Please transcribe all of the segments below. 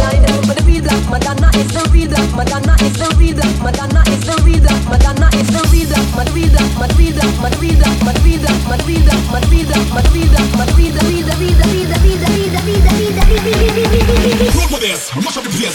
mind. But the real black Madonna is the real black Madonna is the real black Madonna is the real black Madonna is the real black Madrid Madrid Madrid Madrid Madrid Madrid Madrid Madrid Roll with this, mash up the place.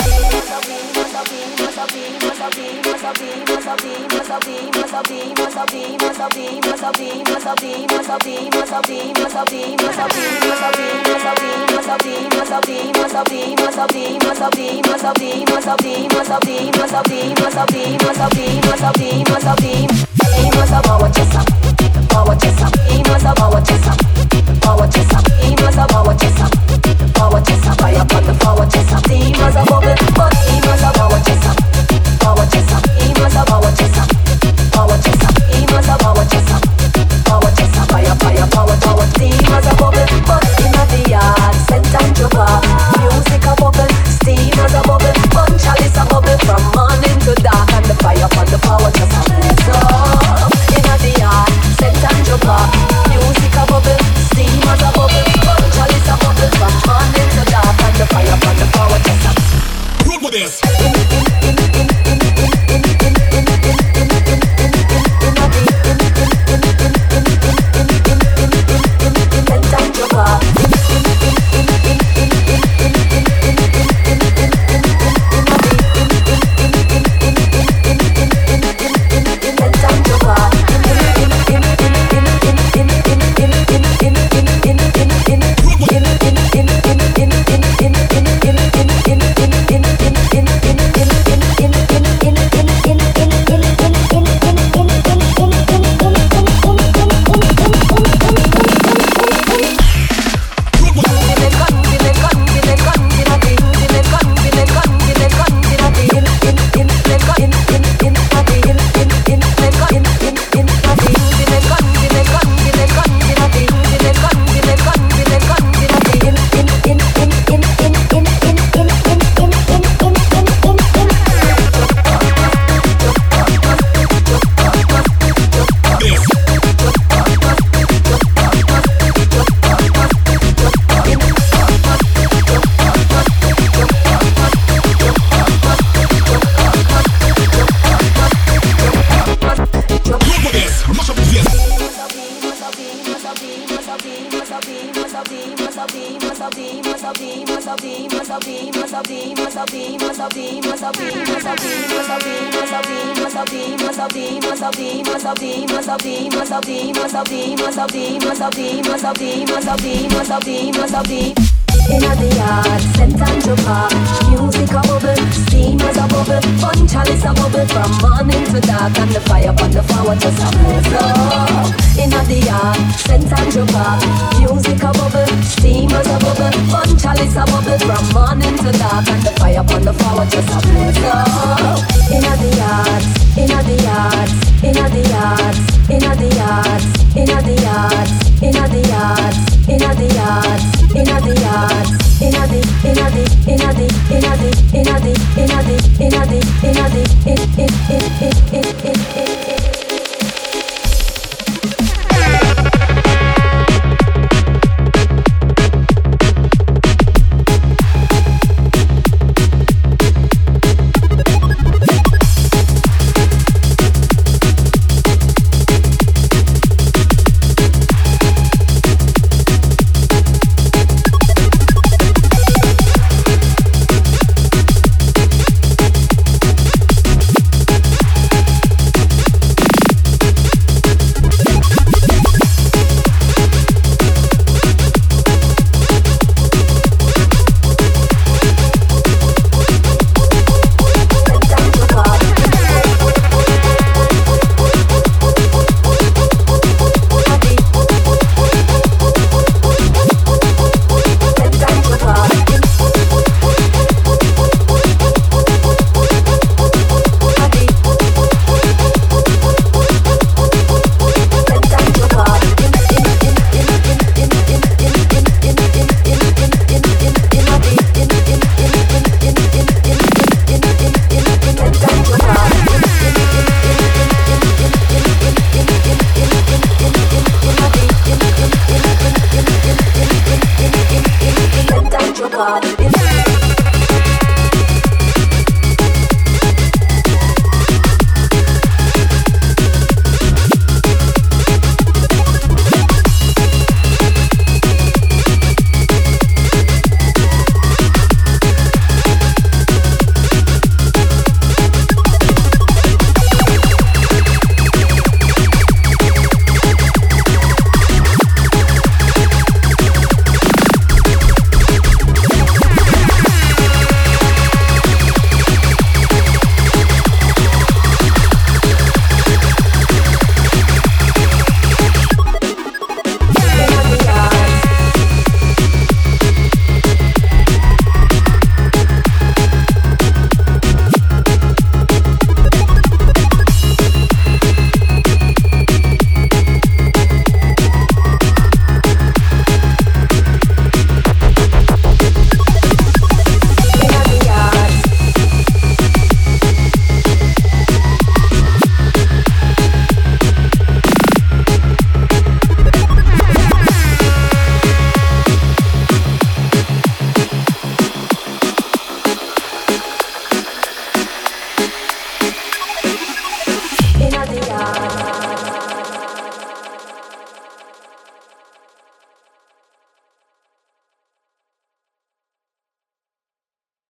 Inna the yard, St. Andrew Park, music a bubble, steam as a bubble, fun chalice a bubble from morning to dark, and the fire on the floor just a blaze up. Inna the yard, St. Andrew Park, music a bubble, steam as a bubble, fun chalice a bubble from morning to dark, and the fire on the floor just a blaze up. Inna the yards, inna the yards, inna the yards, inna the yards, inna the yards, inna the yards, inna the yards, inna the yards, inna the inna the inna the inna the inna the inna the inna the inna the